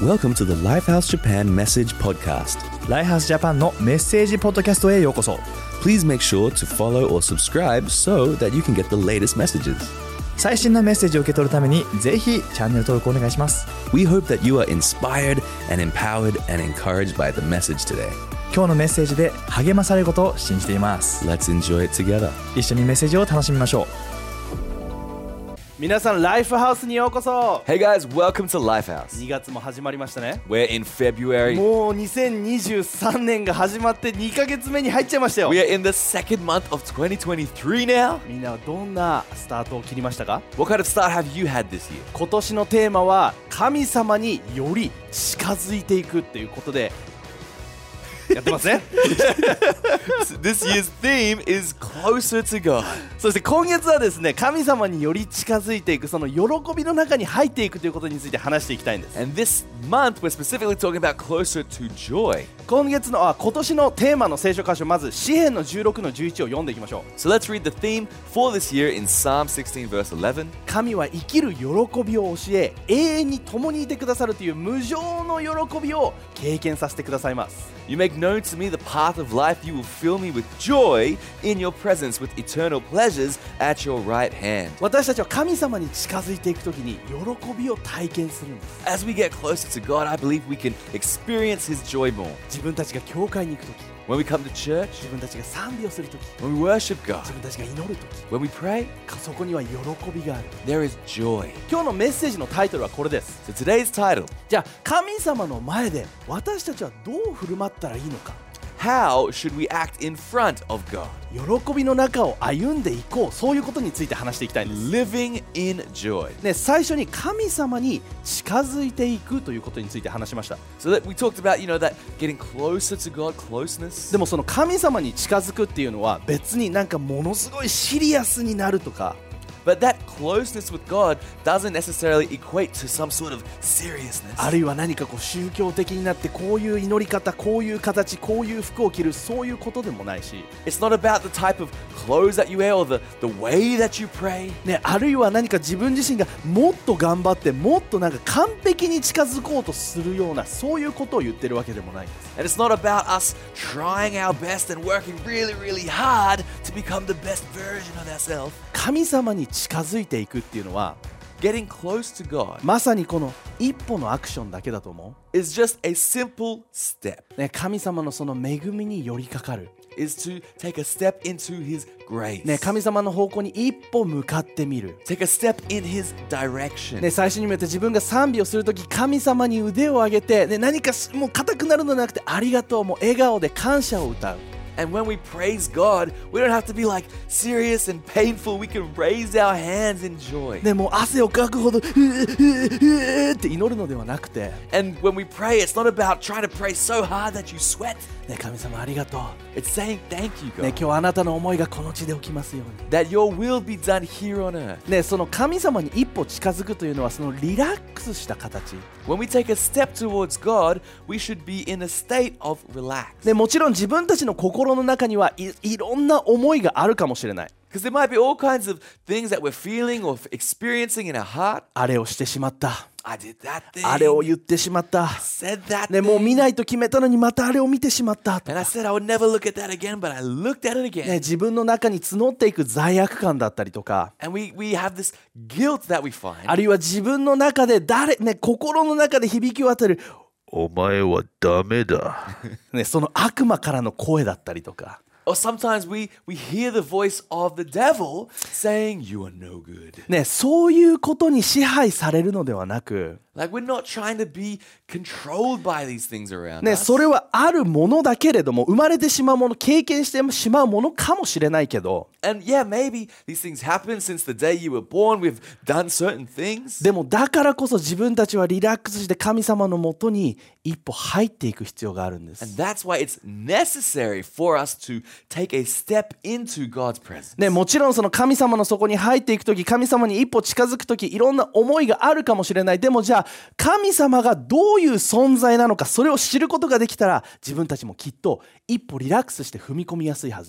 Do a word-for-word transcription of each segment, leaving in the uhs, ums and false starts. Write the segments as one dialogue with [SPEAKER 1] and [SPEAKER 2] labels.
[SPEAKER 1] Welcome to the Lifehouse Japan Message Podcast.
[SPEAKER 2] ライハースジャパンのメッセージポッドキャストへようこそ。
[SPEAKER 1] Please make sure to follow or subscribe so that you can get the latest messages.
[SPEAKER 2] 最新のメッセージを受け取るためにぜひチャンネル登録お願いします。
[SPEAKER 1] We hope that you are inspired and empowered and encouraged by the message today.
[SPEAKER 2] 今日のメッセージで励まされることを信じています。
[SPEAKER 1] Let's enjoy it together.
[SPEAKER 2] 一緒にメッセージを楽しみましょう。
[SPEAKER 3] 皆さんライフハウスにようこそ。
[SPEAKER 4] Hey guys, welcome to Lifehouse.
[SPEAKER 3] にがつも始まりましたね。
[SPEAKER 4] We're in February.
[SPEAKER 3] もうにせんにじゅうさんねんが始まってにかげつめに入っちゃいましたよ。
[SPEAKER 4] We are in the second month of twenty twenty-three now.
[SPEAKER 3] みんなはどんなスタートを切りましたか？
[SPEAKER 4] What kind of start have you had this year?
[SPEAKER 3] 今年のテーマは神様により近づいていくっていうことでやってますね。
[SPEAKER 4] This year's theme is closer to God.
[SPEAKER 3] そして今月はですね、神様により近づいていく、その喜びの中に入っていくということについて話していきたいんです。
[SPEAKER 4] And this month we're specifically talking about closer to joy.
[SPEAKER 3] 今月のあ今年のテーマの聖書箇所、まず詩編のじゅうろくのじゅういちを読んでいきましょう。
[SPEAKER 4] So let's read the theme for this year in Psalm sixteen verse eleven.
[SPEAKER 3] 神は生きる喜びを教え、永遠に共にいてくださるという無上の喜びを経験させてくださいます。
[SPEAKER 4] You make known to me the path of life. You will fill me with joy in your presence, with eternal pleasures at your right hand.
[SPEAKER 3] 私たちは神様に近づいていくときに喜びを体験するんです。
[SPEAKER 4] As we get closer to God, I believe we can experience His joy more.
[SPEAKER 3] 自分たちが教会に行くとき、
[SPEAKER 4] When we come to church,
[SPEAKER 3] 自分たちが賛美をするとき、
[SPEAKER 4] when we worship God,
[SPEAKER 3] 自分たちが祈るとき、
[SPEAKER 4] when we pray,
[SPEAKER 3] そこには喜びがある。
[SPEAKER 4] there is joy.
[SPEAKER 3] 今日のメッセージのタイトルはこれです。
[SPEAKER 4] So today's title,
[SPEAKER 3] じゃあ神様の前で私たちはどう振る舞ったらいいのか、
[SPEAKER 4] How should we act in front of God?
[SPEAKER 3] 喜びの中を歩んでいこう、そういうことについて話していきたいんです。
[SPEAKER 4] Living in joy.
[SPEAKER 3] ね、最初に神様に近づいていくということについて話しました。
[SPEAKER 4] So that we talked about, you know, that getting closer to God, closeness.
[SPEAKER 3] でもその神様に近づくっていうのは別になんかものすごいシリアスになるとか、
[SPEAKER 4] But that closeness with God doesn't necessarily equate to some sort of seriousness.
[SPEAKER 3] あるいは何かこう宗教的になってこういう祈り方、こういう形、こういう服を着る、そういうことでもないし、
[SPEAKER 4] It's not about the type of clothes that you wear or the, the way that you pray.
[SPEAKER 3] ね、あるいは何か自分自身がもっと頑張ってもっとなんか完璧に近づこうとするような、そういうことを言ってるわけでもないんです。
[SPEAKER 4] And it's not about us trying our best and working really, really hard to become the best version of ourselves.
[SPEAKER 3] 神様に近づいていくっていうのは
[SPEAKER 4] Getting close to God
[SPEAKER 3] まさにこの一歩のアクションだけだと思
[SPEAKER 4] is just a simple step.
[SPEAKER 3] う、ね、神様のその恵みに寄りかかる、
[SPEAKER 4] Is to take a step into His grace.
[SPEAKER 3] ね、神様の方向に一歩向かってみる、
[SPEAKER 4] Take a step in His direction.
[SPEAKER 3] ね、最初にも言った自分が賛美をするとき神様に腕を上げて、ね、何かもう硬くなるのではなくてありがとう、もう笑顔で感謝を歌う。
[SPEAKER 4] And when we praise God, we don't have to be like serious and painful. We can raise our hands in joy.
[SPEAKER 3] ね、もう汗をかくほどうーうーうーって祈るのではなくて、
[SPEAKER 4] And when we pray, it's not about trying to pray so hard that you sweat.
[SPEAKER 3] ね、神様ありがとう、
[SPEAKER 4] It's saying thank you,
[SPEAKER 3] ね、
[SPEAKER 4] God.
[SPEAKER 3] 今日あなたの思いがこの地で起きますように。
[SPEAKER 4] That your will be done here on earth.
[SPEAKER 3] ね、その神様に一歩近づくというのはそのリラックスした形、
[SPEAKER 4] When we take a step towards God, we should be in a state of relax.
[SPEAKER 3] ね、もちろん自分たちの心の中にはい、いろんな思いがあるかもしれない。
[SPEAKER 4] Because there might be all kinds of things that we're feeling or experiencing in our heart.
[SPEAKER 3] あれをしてしまった、
[SPEAKER 4] I did that thing.
[SPEAKER 3] あれを言ってしまった、
[SPEAKER 4] said that
[SPEAKER 3] ね、もう
[SPEAKER 4] thing.
[SPEAKER 3] 見ないと決めたのにまたあれを見てしまったと
[SPEAKER 4] And I
[SPEAKER 3] か、
[SPEAKER 4] said I would never look at that again, but I looked at it again.
[SPEAKER 3] ね、自分の中に募っていく罪悪感だったりとか、
[SPEAKER 4] And we, we have this guilt that we find.
[SPEAKER 3] あるいは自分の中で誰、ね、心の中で響き渡るお前はダメだ、ね、その悪魔からの声だったりとか、
[SPEAKER 4] Or sometimes we, we hear the voice of the devil saying, you are no good.
[SPEAKER 3] ね、そういうことに支配されるのではなく、
[SPEAKER 4] Like we're not trying to be controlled by these things around
[SPEAKER 3] ね、
[SPEAKER 4] us.
[SPEAKER 3] それはあるものだけれども、生まれてしまうもの、経験してしまうものかもしれないけど、
[SPEAKER 4] And yeah, maybe these things happen since the day you were born. We've done certain things.
[SPEAKER 3] でもだからこそ自分たちはリラックスして神様のもとに一歩入っていく必要があるんです。
[SPEAKER 4] And that's why it's necessary for us to take a step into God's presence.
[SPEAKER 3] ね、もちろんその神様の底に入っていくとき、神様に一歩近づくとき、いろんな思いがあるかもしれない。でもじゃあ神様がどういう存在なのか、それを知ることができたら自分たちもきっと一歩リラックスして踏み込みやすいはず。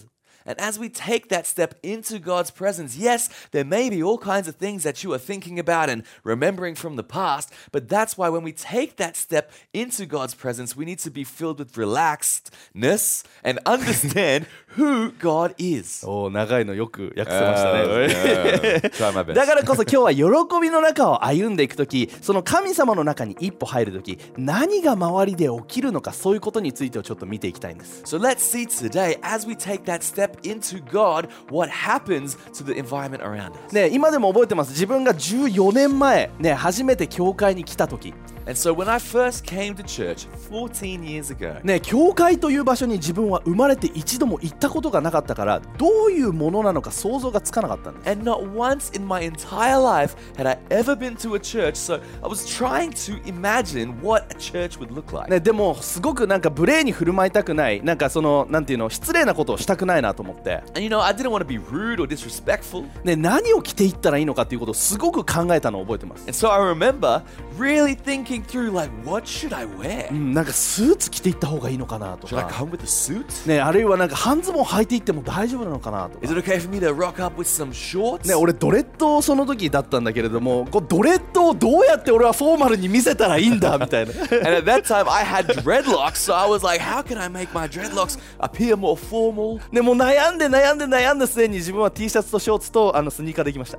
[SPEAKER 4] And as we take that step into God's presence, yes, there may be all kinds of things that you are thinking about and remembering from the past, but that's why when we take that step into God's presence, we need to be filled with relaxedness and understand who God is.
[SPEAKER 3] おー、長いのよく訳せましたね。
[SPEAKER 4] Yeah, try my best.
[SPEAKER 3] だからこそ今日は喜びの中を歩んでいくとき、その神様の中に一歩入るとき、何が周りで起きるのか、そういうことについてをちょっと見ていきたいんです。
[SPEAKER 4] So let's see today, as we take that step into God, what happens to the environment around us.
[SPEAKER 3] ね、今でも覚えてます。自分がじゅうよねんまえ、ね、初めて教会に来たとき、
[SPEAKER 4] And so when I first came to church fourteen years ago,
[SPEAKER 3] ね、教会という場所に自分は生まれて一度も行ったことがなかったから、どういうものなのか想像がつかなかったんです。
[SPEAKER 4] and not once in my entire life had I ever been to a church, so I was trying to imagine what a church would look like.
[SPEAKER 3] ね、でもすごくなんか無礼に振る舞いたくない、なんかそのなんていうの、失礼なことをしたくないなと思って、
[SPEAKER 4] And you know, I didn't want to be rude or disrespectful.
[SPEAKER 3] ね、何を着ていったらいいのかっていうことをすごく考えたのを覚えてます。
[SPEAKER 4] And so I remember really thinking through, like, what should I wear?
[SPEAKER 3] うん、なんかスーツ着ていった方がいいのかなと
[SPEAKER 4] Should I
[SPEAKER 3] か、
[SPEAKER 4] come with a suit?
[SPEAKER 3] ね、あるいはなんか半ズボン履いていっても大丈夫なのかなとか。
[SPEAKER 4] Is it okay for me to rock up with some shorts?
[SPEAKER 3] ね、俺ドレッドその時だったんだけれども、こうドレッドをどうやって俺はフォーマルに見せたらいいんだみたいな。
[SPEAKER 4] And at that time I had dreadlocks, so I was like, how can I make my dreadlocks appear more formal?
[SPEAKER 3] ね、もう悩んで悩んで悩んだ末に自分は T シャツとショーツとあのスニーカーできました。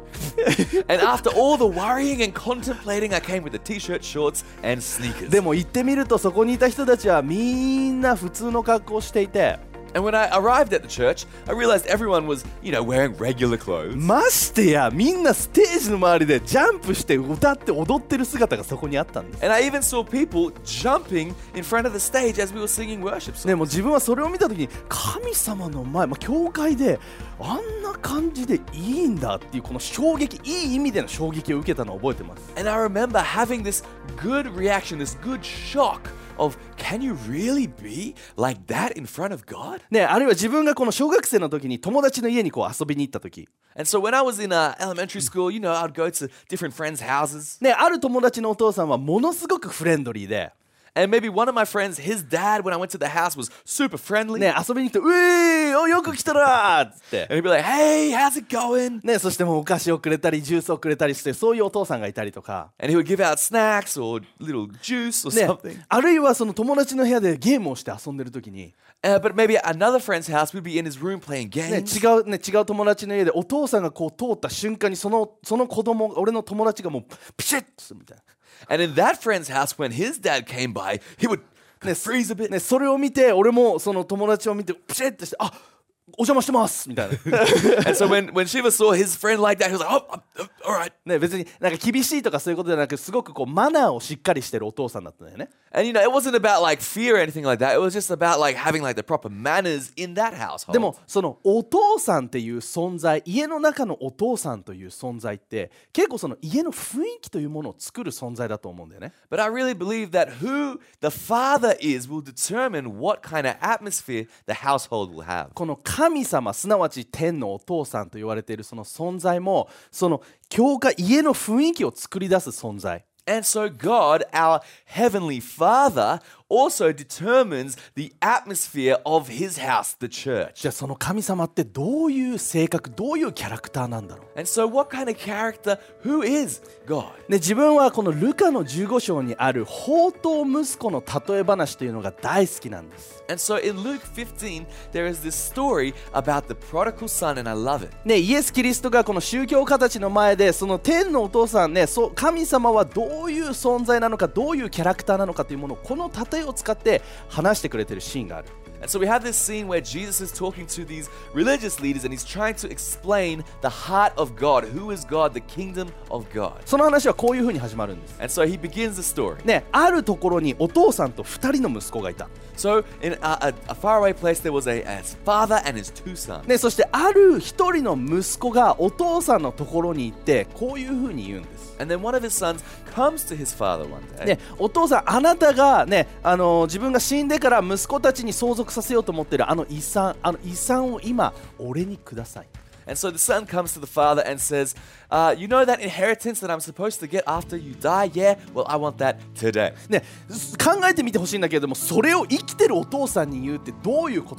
[SPEAKER 4] And after all the worrying and contemplating, I came with a t-shirt, shorts, and sneakers.
[SPEAKER 3] でも行ってみるとそこにいた人たちはみんな普通の格好をしていて、
[SPEAKER 4] And when I arrived at the church, I realized everyone was, you know, wearing regular clothes.
[SPEAKER 3] ましてやみんなステージの周りでジャンプして歌って踊ってる姿がそこにあったんです。
[SPEAKER 4] And I even saw people jumping in front of the stage as we were singing worship songs.
[SPEAKER 3] ね、もう自分はそれを見た時に神様の前、まあ、教会であんな感じでいいんだっていうこの衝撃、いい意味での衝撃を受けたのを覚えてます。
[SPEAKER 4] And I remember having this good reaction, this good shock of, can you really be like that in front of God?
[SPEAKER 3] ね、あるいは自分がこの小学生の時に友達の家にこう遊びに行った時、
[SPEAKER 4] And so when I was in uh, elementary school, you know, I'd go to different friends' houses.
[SPEAKER 3] ね、ある友達のお父さんはものすごくフレンドリーで、
[SPEAKER 4] And maybe one of my friends, his dad, when I went to the house, was super friendly.
[SPEAKER 3] ね、遊びに来て、うえーおよく来たらーっつって、
[SPEAKER 4] And he'd be like, hey, how's it going?
[SPEAKER 3] ね、そしてもうお菓子をくれたりジュースをくれたりして、そういうお父さんがいたりとか、
[SPEAKER 4] And he would give out snacks or little juice or
[SPEAKER 3] ね
[SPEAKER 4] something.、
[SPEAKER 3] あるいはその友達の部屋でゲームをして遊んでる時に、
[SPEAKER 4] Uh, but maybe at another friend's house, we'd be in his room playing
[SPEAKER 3] ね、
[SPEAKER 4] games.
[SPEAKER 3] 違うね、違う友達の家でお父さんがこう通った瞬間にそのその子供、俺の友達がもうピシッとするみたいな。
[SPEAKER 4] And in that friend's house, when his dad came by, he would freeze a bit.
[SPEAKER 3] ね、それを見て俺もその友達を見てピシッとして、あ、お邪魔してますみたいな。
[SPEAKER 4] And so when, when Shiva saw his friend like that, he was like, oh, oh, all right.
[SPEAKER 3] ね、別になんか厳しいとかそういうことじゃなく、すごくこうマナーをしっかりしてるお父さんだったんだよね。
[SPEAKER 4] And you know, it wasn't about like fear or anything like that. It was just about like having like the proper manners in that household.
[SPEAKER 3] でもそのお父さんっていう存在、家の中のお父さんという存在って結構その家の雰囲気というものを作る存在だと思うんだよね。
[SPEAKER 4] But I really believe that who the father is will determine what kind of atmosphere the household will have.
[SPEAKER 3] この神様、すなわち天のお父さんと言われているその存在も、その教会、家の雰囲気を作り出す存在。
[SPEAKER 4] And so God, our heavenly Father, also determines the atmosphere of his house, the church.
[SPEAKER 3] じゃあその神様ってどういう性格、どういうキャラクターなんだろう。
[SPEAKER 4] And so what kind of character, who is God?
[SPEAKER 3] ね、自分はこのルカのじゅうご章にある放蕩息子の例え話というのが大好きなんです。
[SPEAKER 4] And so in Luke fifteen, there is this story about the prodigal son, and I love it.
[SPEAKER 3] ね、イエス・キリストがこの宗教家たちの前でその天のお父さんね、そう神様はどういう存在なのか、どういうキャラクターなのかというものをこの例えを使って話してくれているシーンがある。
[SPEAKER 4] And so we have this scene where Jesus is talking to these religious leaders and he's trying to explain the heart of God. Who is God? The kingdom of God.
[SPEAKER 3] その話はこういうふうに始まるんです。
[SPEAKER 4] And so he begins the story.
[SPEAKER 3] ね、あるところにお父さんとふたりの息子がいた。
[SPEAKER 4] So in a, a, a faraway place there was a, a father and his two sons.
[SPEAKER 3] ね、そしてある一人の息子がお父さんのところに行ってこういうふうに言うんです。
[SPEAKER 4] And then one of his sons comes to his father one day.
[SPEAKER 3] ね、お父さん、あなたが、ね、あの自分が死んでから息子たちに相続させようと思っているあの遺産、あの遺産を今俺にください。
[SPEAKER 4] And so the son comes to the father and says, uh, you know that inheritance that I'm supposed to get after you die? Yeah, well, I want that today.
[SPEAKER 3] ね、考えてみてほしいんだけれども、それを生きてるお父さんに言うってどういうことか。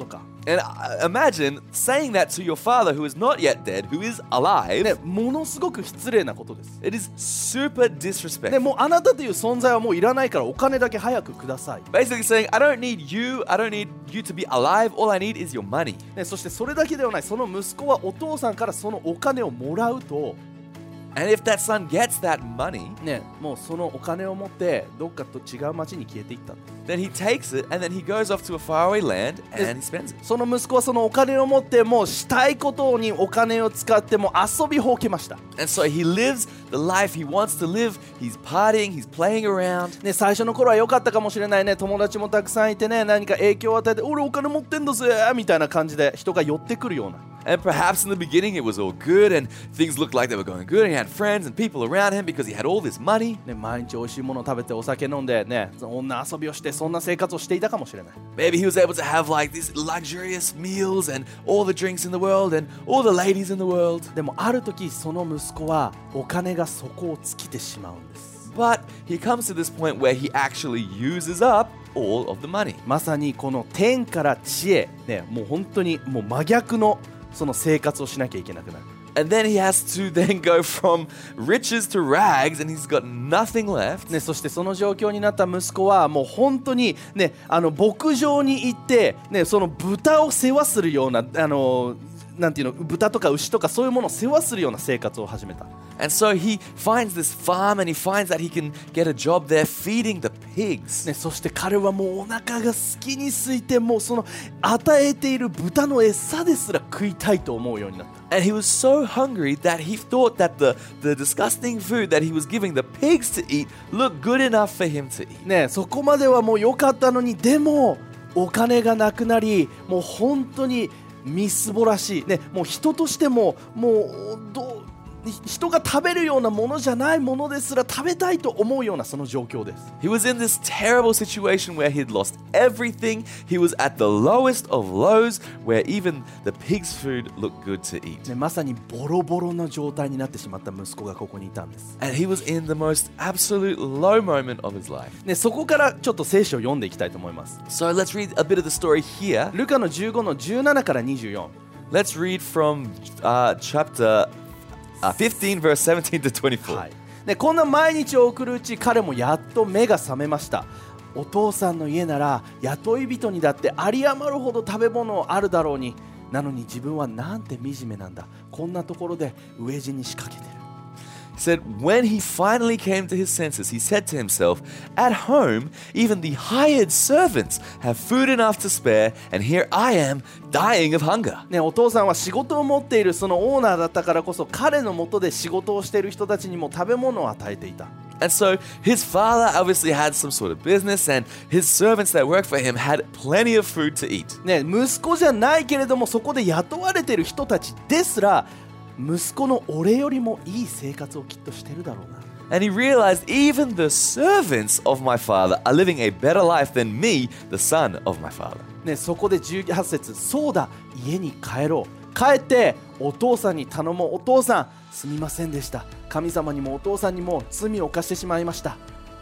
[SPEAKER 4] And uh, imagine saying that to your father who is not yet dead, who is alive.
[SPEAKER 3] ね、ものすごく失礼なことです。
[SPEAKER 4] It is super
[SPEAKER 3] ね、
[SPEAKER 4] disrespectful.
[SPEAKER 3] もうあなたという存在はもういらないからお金だけ早くください。
[SPEAKER 4] Basically saying, I don't need you, I don't need you to be alive, all I need is your money.
[SPEAKER 3] ね、そしてそれだけではない、その息子はお父さんからそのお金をもらうと、
[SPEAKER 4] And if that son gets that money,
[SPEAKER 3] ね、もうそのお金を持ってどっかと違う町に消えていった。
[SPEAKER 4] then he takes it and then he goes off to a faraway land and he spends it.
[SPEAKER 3] その息子はそのお金を持ってもうしたいことにお金を使ってもう遊びほうけました。
[SPEAKER 4] And so he lives the life he wants to live. He's partying, he's playing around.
[SPEAKER 3] ね、最初の頃は良かったかもしれないね、友達もたくさんいてね、何か影響を与えて俺お金持ってんだぜみたいな感じで人が寄ってくるような。
[SPEAKER 4] And perhaps in the beginning it was all good and things looked like they were going good and he had friends and people around him because he had all this money.
[SPEAKER 3] ね、毎日美味しいものを食べてお酒飲んでね、その女遊びをしてそんな生活をしていたかもしれない。
[SPEAKER 4] Maybe he was able to have like these luxurious meals and all the drinks in the world and all the ladies in the world.
[SPEAKER 3] でもある時その息子はお金が底を尽きてしまうんです。
[SPEAKER 4] But he comes to this point where he actually uses up all of the money.
[SPEAKER 3] まさにこの天から地へ、ね、もう本当にもう真逆のその生活をしなきゃいけなくなる。
[SPEAKER 4] And then he has to then go from riches to rags and he's got nothing left.
[SPEAKER 3] ね、そしてその状況になった息子はもう本当に、ね、あの牧場に行って、ね、その豚を世話するようなあのなんていうの、豚とか牛とかそういうものを世話するような生活を始めた。
[SPEAKER 4] And so he finds this farm and he finds that he can get a job there feeding the pigs.
[SPEAKER 3] ね、そして彼はもうお腹が好きに空いてもうその与えている豚の餌ですら食いたいと思うようになった。
[SPEAKER 4] And he was so hungry that he thought that the, the disgusting food that he was giving the pigs to eat looked good enough for him to eat.
[SPEAKER 3] ね、そこまではもう良かったのに、でもお金がなくなりもう本当にみすぼらしい、ね、もう人としてももうどう人が食べるようなものじゃないものですら食べたいと思うようなその状況です。
[SPEAKER 4] He was in this terrible situation where he'd lost everything. He was at the lowest of lows where even the pig's food looked good to eat.
[SPEAKER 3] ね、まさにボロボロな状態になってしまった息子がここにいたんです。
[SPEAKER 4] And he was in the most absolute low moment of his life.
[SPEAKER 3] ね、そこからちょっと聖書を読んでいきたいと思います。
[SPEAKER 4] So let's read a bit of the story here.
[SPEAKER 3] ルカのじゅうごのじゅうななからにじゅうよん。
[SPEAKER 4] Let's read from uh, chapter uh, fifteen, verse seventeen to twenty-four.
[SPEAKER 3] はい、でこんな毎日を送るうち彼もやっと目が覚めました。お父さんの家なら雇い人にだって有り余るほど食べ物あるだろうに、なのに自分はなんて惨めなんだ、こんなところで飢え死に仕掛けてる。
[SPEAKER 4] He said, when he finally came to his senses, he said to himself, at home, even the hired servants have food enough to spare, and here I am dying of hunger.
[SPEAKER 3] ね、お父さんは仕事を持っているそのオーナーだったからこそ、彼の下で仕事をしている人たちにも食べ物を与えていた。
[SPEAKER 4] And so his father obviously had some sort of business, and his servants that worked for him had plenty of food to eat.
[SPEAKER 3] ね、息子じゃないけれどもそこで雇われている人たちですら息子の俺よりもいい生活をきっとしてるだろうな。
[SPEAKER 4] And he realized even the servants of my father are living a better life than me, the son of my father.
[SPEAKER 3] ね、そこでじゅうはち節、そうだ、家に帰ろう。帰ってお父さんに頼もう。お父さん、すみませんでした。神様にもお父さんにも罪を犯してしまいました。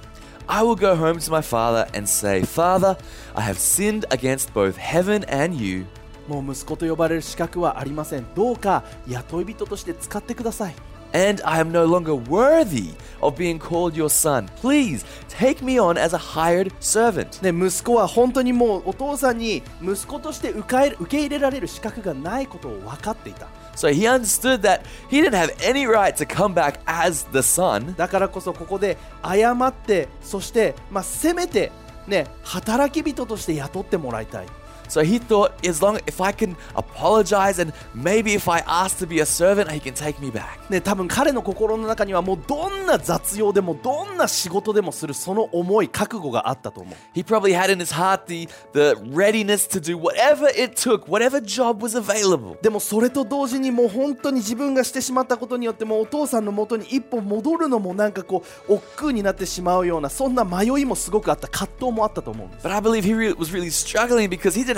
[SPEAKER 4] I will go home to my father and say, Father, I have sinned against both heaven and you.
[SPEAKER 3] もう息子と呼ばれる資格はありません。どうか雇い人として使ってください。
[SPEAKER 4] And I am no longer worthy of being called your son. Please take me on as a hired servant.
[SPEAKER 3] ね、息子は本当にもうお父さんに息子として受け入れ、受け入れられる資格がないことを分かっていた。
[SPEAKER 4] So he understood that he didn't have any right to come back as the son.
[SPEAKER 3] だからこそここで謝って、そして、まあ、せめて、ね、働き人として雇ってもらいたい。
[SPEAKER 4] So he thought, as long if I can apologize and maybe if I ask to be a servant, he can take me back.
[SPEAKER 3] ね、多分彼の心の中にはもうどんな雑用でもどんな仕事でもするその思い覚悟があったと思う。
[SPEAKER 4] He probably had in his heart the, the readiness to do whatever it took, whatever job was available.
[SPEAKER 3] でもそれと同時にもう本当に自分がしてしまったことによってもうお父さんの元に一歩戻るのもなんかこう億劫になってしまうようなそんな迷いもすごくあった、葛藤もあったと思うんです。
[SPEAKER 4] But I believe he re- was really struggling because he didn't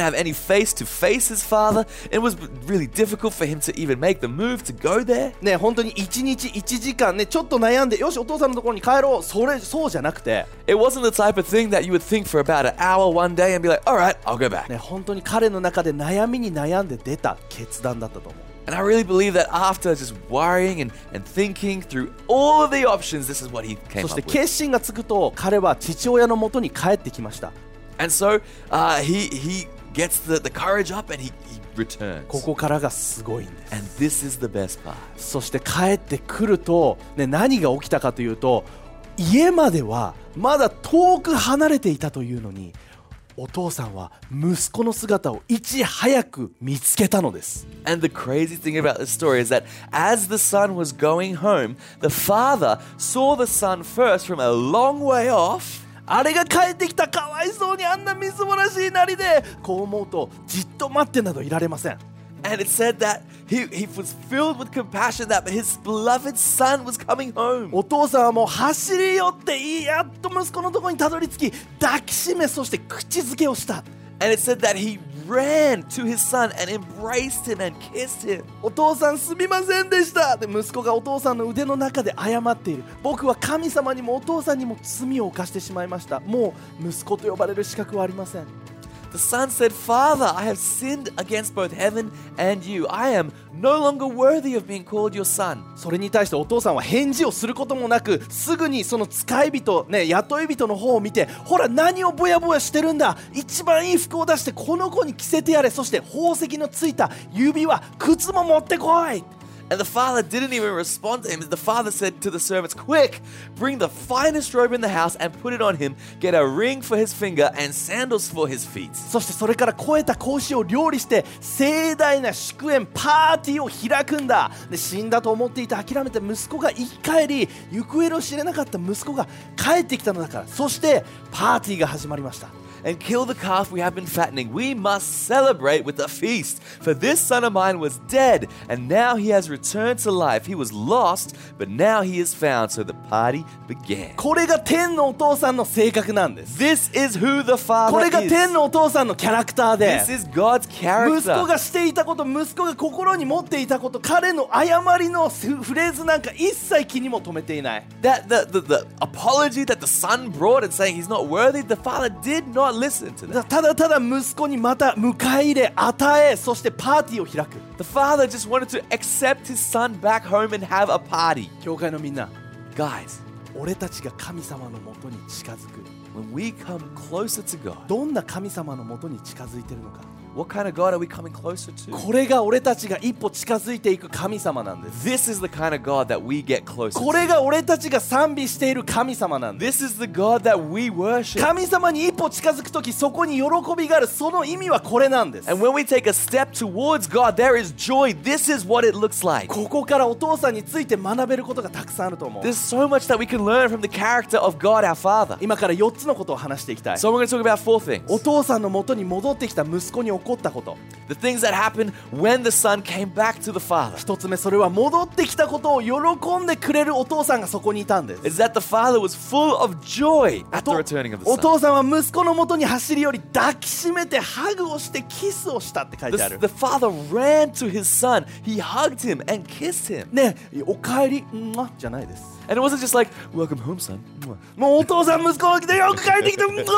[SPEAKER 4] have any face to face his father. It was really difficult for him to even make the move to go there.
[SPEAKER 3] ね、本当にいちにちいちじかんね、ちょっと悩んで、よしお父さんのところに帰ろう、それそうじゃなくて、
[SPEAKER 4] It wasn't the type of thing that you would think for about an hour one day and be like, all right, I'll go back.
[SPEAKER 3] ね、本当に彼の中で悩みに悩んで出た決断だったと思う。
[SPEAKER 4] And I really believe that after just worrying and, and thinking through all of the options, this is what he came
[SPEAKER 3] そして
[SPEAKER 4] up with.
[SPEAKER 3] 決心がつくと、彼は父親のもとに帰ってきました。
[SPEAKER 4] And so uh, he he gets the, the courage up and he, he returns.
[SPEAKER 3] ここからがすごいんです。
[SPEAKER 4] And this is the best part.
[SPEAKER 3] そして帰ってくると、ね、何が起きたかというと、家まではまだ遠く離れていたというのに、お父さんは息子の姿をいち早く見つけたのです。
[SPEAKER 4] And the crazy thing about this story is that as the son was going home, the father saw the son first from a long way off.
[SPEAKER 3] あれが帰ってきた、かわいそうにあんなみすぼらしいなりで、こう思うとじっと待ってなどいられません。
[SPEAKER 4] And it said that he, he was filled with compassion that his beloved son was coming home.
[SPEAKER 3] お父さんはもう走り寄ってやっと息子のところにたどり着き、抱きしめ、そして口づけをした。
[SPEAKER 4] And it said that he ran to his son and embraced him and kissed him.
[SPEAKER 3] お父さんすみませんでしたで、息子がお父さんの腕の中で謝っている。僕は神様にもお父さんにも罪を犯してしまいました。もう息子と呼ばれる資格はありません。
[SPEAKER 4] The son said, Father, I have sinned against both heaven and you. I am no longer worthy of being called your son.
[SPEAKER 3] それに対してお父さんは返事をすることもなく、すぐにその使い人、ね、雇い人の方を見て、ほら何をぼやぼやしてるんだ、一番いい服を出してこの子に着せてやれ、そして宝石のついた指輪、靴も持ってこい。
[SPEAKER 4] And the father didn't even respond to him. The father said to the servants, Quick, bring the finest robe in the house and put it on him. Get a ring for his finger and sandals for his feet.
[SPEAKER 3] そしてそれから肥えた子牛を料理して盛大な祝宴パーティーを開くんだ。で、死んだと思っていた諦めた息子が生き返り、行方の知れなかった息子が帰ってきたのだから。そしてパーティーが始まりました。
[SPEAKER 4] And kill the calf we have been fattening. We must celebrate with a feast. For this son of mine was dead, and now he has returned to life. He was lost, but now he is found. So the party began.
[SPEAKER 3] これが天のお父さんの性格なんです。
[SPEAKER 4] This is who the father
[SPEAKER 3] これが
[SPEAKER 4] is.
[SPEAKER 3] 天のお父さんのキャラクターで、
[SPEAKER 4] This is God's
[SPEAKER 3] 息子
[SPEAKER 4] character.
[SPEAKER 3] がしていたこと、息子が心に持っていたこと、彼の謝りのフレーズなんか一切気にも留めていない。
[SPEAKER 4] That the, the, the apology that the son brought and saying he's not worthy, the father did not listen to that.
[SPEAKER 3] ただただ息子にまた迎え入れ、与え、そしてパーティーを開く。
[SPEAKER 4] The father just wanted to accept his son back home and have a party.
[SPEAKER 3] 教会のみんな、
[SPEAKER 4] Guys,
[SPEAKER 3] 俺たちが神様のもとに近づく。
[SPEAKER 4] when we come closer to God,
[SPEAKER 3] どんな神様のもとに近づいてるのか。
[SPEAKER 4] what kind of God are we coming closer to?
[SPEAKER 3] これが俺たちが一歩近づいていく神様なんです。
[SPEAKER 4] This is the kind of God that we get closer
[SPEAKER 3] これ
[SPEAKER 4] to.
[SPEAKER 3] が俺たちが賛美している神様なんです。
[SPEAKER 4] This is the God that we worship.
[SPEAKER 3] 神様に一歩近づくとき、そこに喜びがある。その意味はこれなんです。
[SPEAKER 4] And when we take a step towards God, there is joy. This is what it looks like.
[SPEAKER 3] ここからお父さんについて学べることがたくさんあると思う。
[SPEAKER 4] There's so much that we can learn from the character of God, our Father.
[SPEAKER 3] 今からよっつのことを話していきたい。
[SPEAKER 4] So we're going to talk about four things.
[SPEAKER 3] お父さんのもとに戻ってきた息子に起こったこと。
[SPEAKER 4] The things that happened when the son came back to the father.
[SPEAKER 3] 一つ目、それは戻ってきたことを喜んでくれるお父さんがそこにいたんです。
[SPEAKER 4] Is that the father was full of joy at the returning of the
[SPEAKER 3] お
[SPEAKER 4] son.
[SPEAKER 3] 父さんは息子のもとに走り寄り、抱きしめてハグをしてキスをしたって書いてあ
[SPEAKER 4] The,
[SPEAKER 3] る。
[SPEAKER 4] the father ran to his son. He hugged him and kissed him.
[SPEAKER 3] ねえ、おかえりんまじゃないです。
[SPEAKER 4] And it wasn't just like, welcome home, son.
[SPEAKER 3] もうお父さん息子が来てよく帰ってきて。
[SPEAKER 4] It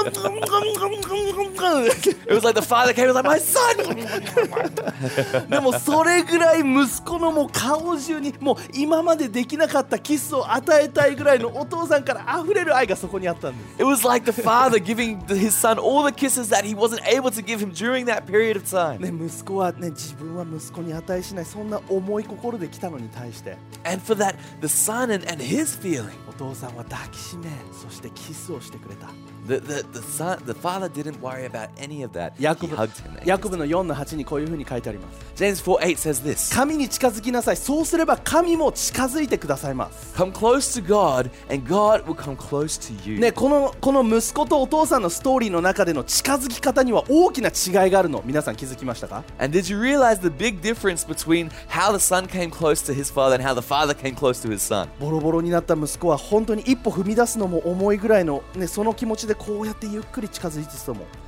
[SPEAKER 4] was like the father came and was like, my son!
[SPEAKER 3] でもそれぐらい息子のもう顔中にもう今までできなかったキスを与えたいぐらいのお父さんから溢れる愛がそこにあったんです。
[SPEAKER 4] It was like the father giving his son all the kisses that he wasn't able to give him during that period of time.
[SPEAKER 3] ね、息子はね、自分は息子に値しない、そんな重い心で来たのに対して、
[SPEAKER 4] And for that, the son and, and his feeling,
[SPEAKER 3] お父さんは抱きしめ、そしてキスをしてくれた。
[SPEAKER 4] the, the, the, son, the father didn't worry about any of that.
[SPEAKER 3] ヤコ
[SPEAKER 4] He
[SPEAKER 3] ブ
[SPEAKER 4] hugged him. and
[SPEAKER 3] ヤコブのよんのはちにこういうふうに書いてあります。
[SPEAKER 4] James four eight says this.
[SPEAKER 3] 神に近づきなさい。そうすれば神も近づいてくださいます。
[SPEAKER 4] Come close to God, and God will come close to you.
[SPEAKER 3] ね、このこの息子とお父さんのストーリーの中での近づき方には大きな違いがあるの、皆さん気づきましたか？
[SPEAKER 4] And did you realize the big difference between how the son came close to his father and how the father came close to his son?
[SPEAKER 3] ボロボロになった息子は本当に一歩踏み出すのも重いぐらいの、ね、その気持ちでこうやってゆっくり近づいてたと思う。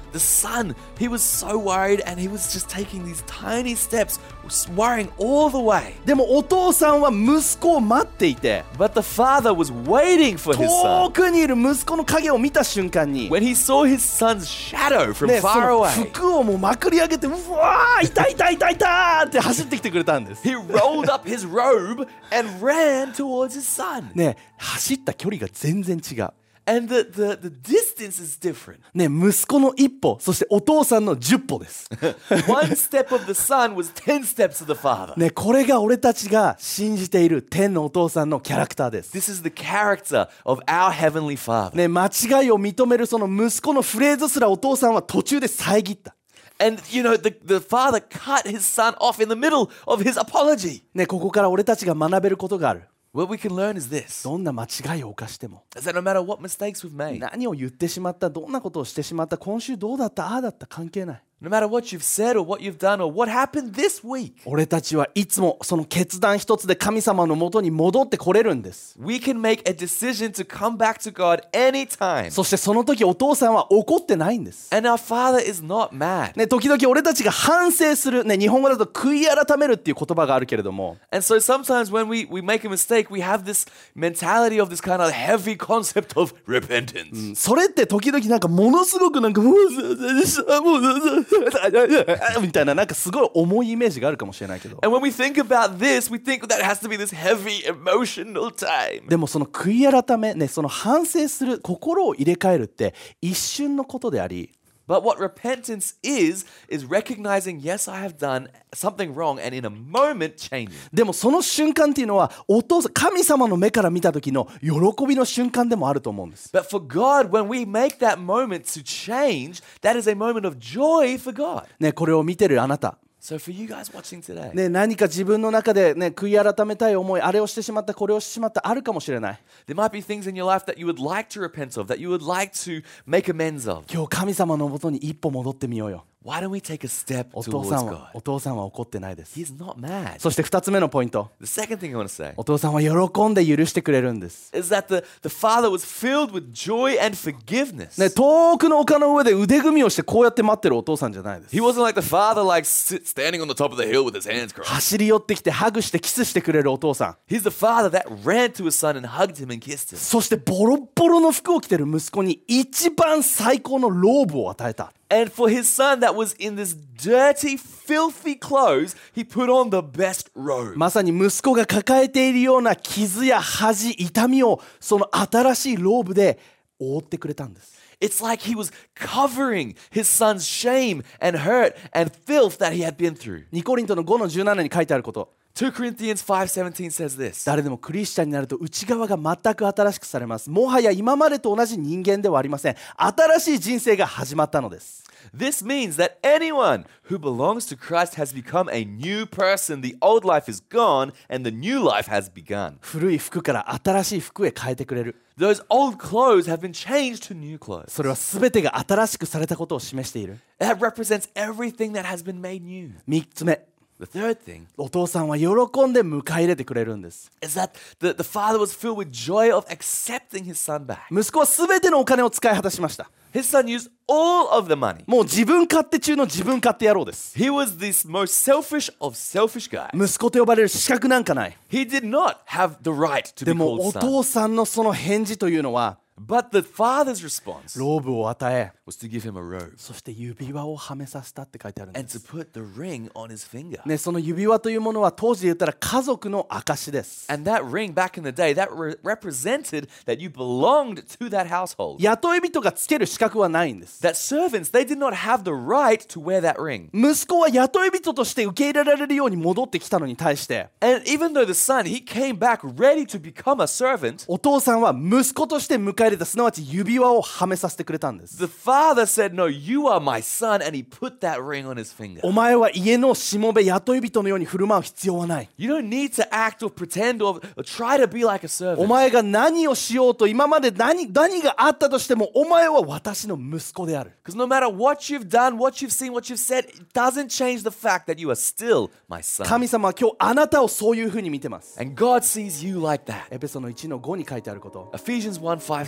[SPEAKER 4] the son, he was so worried and he was just taking these tiny steps, worrying all the way.
[SPEAKER 3] でもお父さんは息子を待っていて、
[SPEAKER 4] But the father was waiting for his
[SPEAKER 3] 遠
[SPEAKER 4] son.
[SPEAKER 3] くにいる息子の影を見た瞬間に、
[SPEAKER 4] When he saw his son's shadow from
[SPEAKER 3] ね、そ
[SPEAKER 4] far
[SPEAKER 3] の
[SPEAKER 4] away,
[SPEAKER 3] 服をもうまくり上げて、うわー、いたいたいたいたって走ってきてくれたんです。
[SPEAKER 4] he rolled up his robe and ran towards his son.
[SPEAKER 3] ね、走った距離が全然違う。
[SPEAKER 4] And the, the, the distance is different.
[SPEAKER 3] ね、息子の一歩、そしてお父さんの十歩です。
[SPEAKER 4] One step of the son was ten steps of the father.
[SPEAKER 3] ね、これが俺たちが信じている天のお父さんのキャラクターです。
[SPEAKER 4] This is the character of our heavenly father.
[SPEAKER 3] ね、間違いを認めるその息子のフレーズすらお父さんは途中で遮った。
[SPEAKER 4] And, you know, the, the father cut his son off in the middle of his apology.
[SPEAKER 3] ね、ここから俺たちが学べることがある。
[SPEAKER 4] What we can learn is this,
[SPEAKER 3] どんな間違いを犯しても、
[SPEAKER 4] is that no matter what mistakes we've made,
[SPEAKER 3] 何を言ってしまった、どんなことをしてしまった、今週どうだった、ああだった、関係ない。
[SPEAKER 4] no matter what you've said or what you've done or what happened this week,
[SPEAKER 3] 俺たちはいつもその決断一つで神様のもとに戻ってこれるんです。
[SPEAKER 4] we can make a decision to come back to God anytime.
[SPEAKER 3] そしてその時お父さんは怒ってないんです。
[SPEAKER 4] And our father is not mad.
[SPEAKER 3] ね、時々俺たちが反省する、ね、日本語だと悔い改めるっていう言葉があるけれども、
[SPEAKER 4] And so sometimes when we, we make a mistake, we have this mentality of this kind of heavy concept of repentance.
[SPEAKER 3] それって時々なんかものすごくなんかもうもうみたいな、なんかすごい重いイメージがあるかもしれないけど、
[SPEAKER 4] And when we think about this, we think that it has to be this heavy emotional time.
[SPEAKER 3] でもその悔い改め、ね、その反省する心を入れ替えるって一瞬のことであり、
[SPEAKER 4] But what repentance is, is recognizing, yes, I have done something wrong, and in a moment changing.
[SPEAKER 3] でもその瞬間っていうのはお父さん、神様の目から見た時の喜びの瞬間でもあると思うんです。
[SPEAKER 4] But for God, when we make that moment to change, that is a moment of joy for God.
[SPEAKER 3] ね、これを見てるあなた、
[SPEAKER 4] So for you guys watching today,
[SPEAKER 3] ね、何か自分の中で、ね、悔い改めたい思い、あれをしてしまった、これをしてしまった、あるかもしれない。
[SPEAKER 4] there might be things in your life that you would like to repent of, that you would like to make amends of.
[SPEAKER 3] 今日神様のもとに一歩戻ってみようよ。
[SPEAKER 4] Why don't we take a step
[SPEAKER 3] お父さ
[SPEAKER 4] towards
[SPEAKER 3] んは、お
[SPEAKER 4] God?
[SPEAKER 3] 父さんは怒ってないです。
[SPEAKER 4] He's not mad.
[SPEAKER 3] そして二つ目のポイント、
[SPEAKER 4] The second thing I want to say
[SPEAKER 3] お父さんは喜んで許してくれるんです。
[SPEAKER 4] is that the, the father was filled with joy and forgiveness.
[SPEAKER 3] ね、遠くの丘の上で腕組みをしてこうやって待ってるお父さんじゃないです。
[SPEAKER 4] He wasn't like the father, like sit, standing on the top of the hill with his hands crossed.
[SPEAKER 3] 走り寄ってきてハグしてキスしてくれるお父さん。
[SPEAKER 4] He's the father that ran to his son and hugged him and kissed him.
[SPEAKER 3] そしてボロッボロの服を着てる息子に一番最高のローブを与えた。
[SPEAKER 4] And for his son that was in this dirty, filthy clothes, he put on the best robe.
[SPEAKER 3] まさに息子が抱えているような傷や恥、痛みをその新しいローブで覆ってくれたんです。
[SPEAKER 4] It's like he was covering his son's shame and hurt and filth that he had been through.
[SPEAKER 3] にコリントのごのじゅうななに書いてあること、
[SPEAKER 4] Second Corinthians five seventeen says this.
[SPEAKER 3] 誰でもクリスチャンになると内側が全く新しくされます。もはや今までと同じ人間ではありません。新しい人生が始まったのです。
[SPEAKER 4] This means that anyone who belongs to Christ has become a new person. The old life is gone and the new life has begun.
[SPEAKER 3] 古い服から新しい服へ変えてくれる。
[SPEAKER 4] Those old clothes have been changed to new clothes.
[SPEAKER 3] それは全てが新しくされたことを示している。
[SPEAKER 4] That represents everything that has been made new.
[SPEAKER 3] みっつめ、
[SPEAKER 4] The third thing
[SPEAKER 3] お父さんは喜んで迎え入れてくれるんです。
[SPEAKER 4] is that the, the father was filled with joy of accepting his son back.
[SPEAKER 3] 息子は全てのお金を使い果たしました。
[SPEAKER 4] His son used all of the money.
[SPEAKER 3] もう自分勝手中の自分勝手野郎です。
[SPEAKER 4] He was this most selfish of selfish guys.
[SPEAKER 3] 息子と呼ばれる資格なんかない。
[SPEAKER 4] He did not have the right to
[SPEAKER 3] で
[SPEAKER 4] be
[SPEAKER 3] も
[SPEAKER 4] called
[SPEAKER 3] お
[SPEAKER 4] son.
[SPEAKER 3] 父さんのその返事というのは、
[SPEAKER 4] But the father's response
[SPEAKER 3] ローブを与え、
[SPEAKER 4] was to give him a robe
[SPEAKER 3] そして指輪をはめさせたって書いてあるんで
[SPEAKER 4] and to
[SPEAKER 3] す。
[SPEAKER 4] put the ring on his finger.
[SPEAKER 3] ね、その指輪というものは当時で言ったら家族の証です。
[SPEAKER 4] And that ring back in the day, that re- represented that you belonged to that household.
[SPEAKER 3] 雇い人がつける資格はないんです。
[SPEAKER 4] That servants, they did not have the right to wear that ring.
[SPEAKER 3] 息子は雇い人として受け入れられるように戻ってきたのに対して、
[SPEAKER 4] And even though the son, he came back ready to become a servant,
[SPEAKER 3] お父さんは息子として迎え入れた、すなわち指輪をはめさせてくれたんです。
[SPEAKER 4] the father said, no, you are my son, and he put that ring on his finger.
[SPEAKER 3] お前は家のしもべ雇い人のように振る舞う必要はない。
[SPEAKER 4] You don't need to act or pretend or, or try to be like a
[SPEAKER 3] お
[SPEAKER 4] servant.
[SPEAKER 3] 前が何をしようと、今まで 何, 何があったとしても、お前は私の息子である。
[SPEAKER 4] Because no matter what you've done, what you've seen, what you've said, it doesn't change the fact that you are still my son.
[SPEAKER 3] 神様は今日あなたをそういうふうに見てます。
[SPEAKER 4] And God sees you like that.
[SPEAKER 3] エペソのいちのごに書いてあること。
[SPEAKER 4] Ephesians one five